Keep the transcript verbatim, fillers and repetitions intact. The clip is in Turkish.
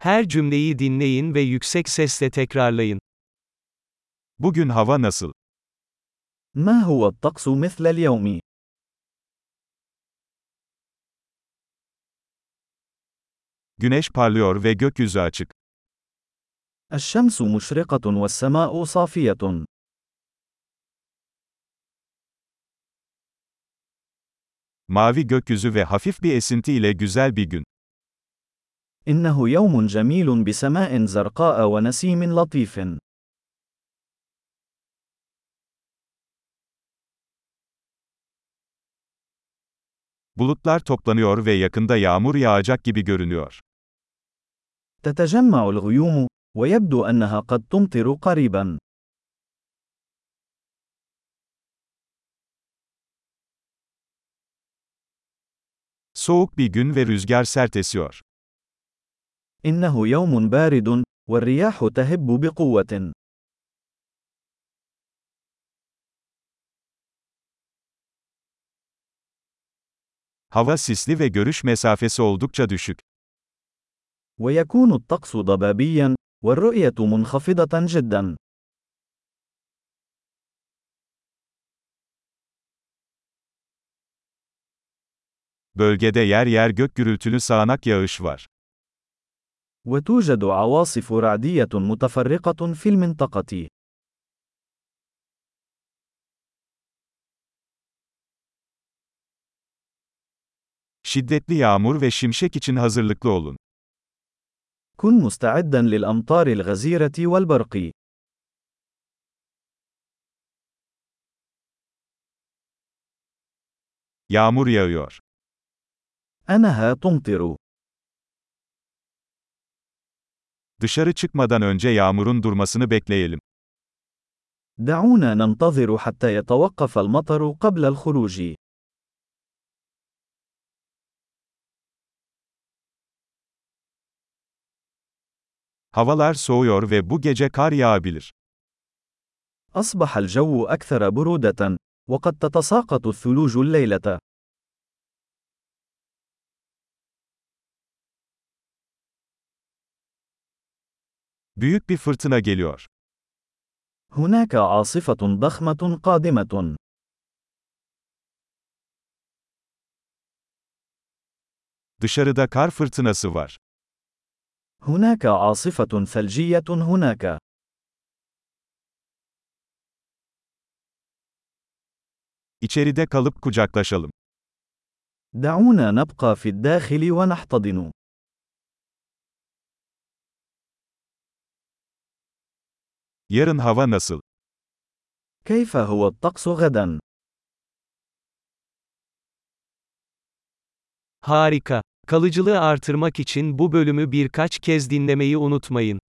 Her cümleyi dinleyin ve yüksek sesle tekrarlayın. Bugün hava nasıl? ما هو الطقس مثل اليوم؟ Güneş parlıyor ve gökyüzü açık. الشمس مشرقة والسماء صافية. Mavi gökyüzü ve hafif bir esinti ile güzel bir gün. إنه يوم جميل بسماء زرقاء ونسيم لطيف. Bulutlar toplanıyor ve yakında yağmur yağacak gibi görünüyor. تتجمع الغيوم، ويبدو أنها قد تمطر قريبا. Soğuk bir gün ve rüzgar sert esiyor. إنه يوم بارد، والرياح تهب بقوة. Hava sisli ve görüş mesafesi oldukça düşük. ويكون الطقس ضبابيا، والرؤية منخفضة جدا. Bölgede yer yer gök gürültülü sağanak yağış var. وتوجد عواصف رعدية متفرقة في المنطقة. Şiddetli yağmur ve şimşek için hazırlıklı olun. كن مستعدا للأمطار الغزيرة والبرق. Yağmur yağıyor. أنها تمطر. Dışarı çıkmadan önce yağmurun durmasını bekleyelim. دعونا ننتظر حتى يتوقف المطر قبل الخروج. Havalar soğuyor ve bu gece kar yağabilir. أصبح الجو أكثر برودة، وقد تتساقط الثلوج الليلة. Büyük bir fırtına geliyor. هناك عاصفة ضخمة قادمة. Dışarıda kar fırtınası var. هناك عاصفة ثلجية هناك. İçeride kalıp kucaklaşalım. دعونا نبقى في الداخل ونحتضن. Yarın hava nasıl? كيف هو الطقس غدا؟ Harika. Kalıcılığı artırmak için bu bölümü birkaç kez dinlemeyi unutmayın.